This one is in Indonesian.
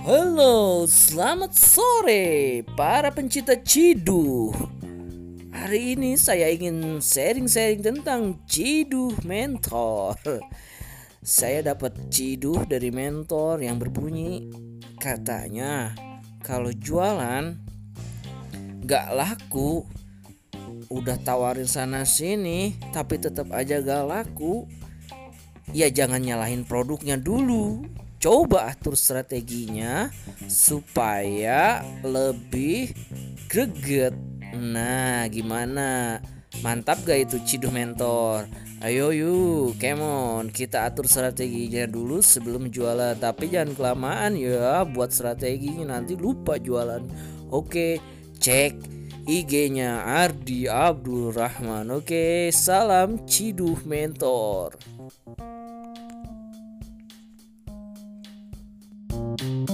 Halo, selamat sore para pencinta Ciduh. Hari ini saya ingin sharing-sharing tentang Ciduh Mentor. Saya dapat ciduh dari mentor yang berbunyi, katanya kalau jualan gak laku, udah tawarin sana sini tapi tetap aja gak laku, ya jangan nyalahin produknya dulu. Coba atur strateginya supaya lebih greget. Nah, gimana? Mantap gak itu Ciduh Mentor? Ayo yuk, come on, kita atur strateginya dulu sebelum jualan. Tapi jangan kelamaan ya buat strateginya, nanti lupa jualan. Oke, cek IG-nya Ardi Abdul Rahman. Oke, salam Ciduh Mentor.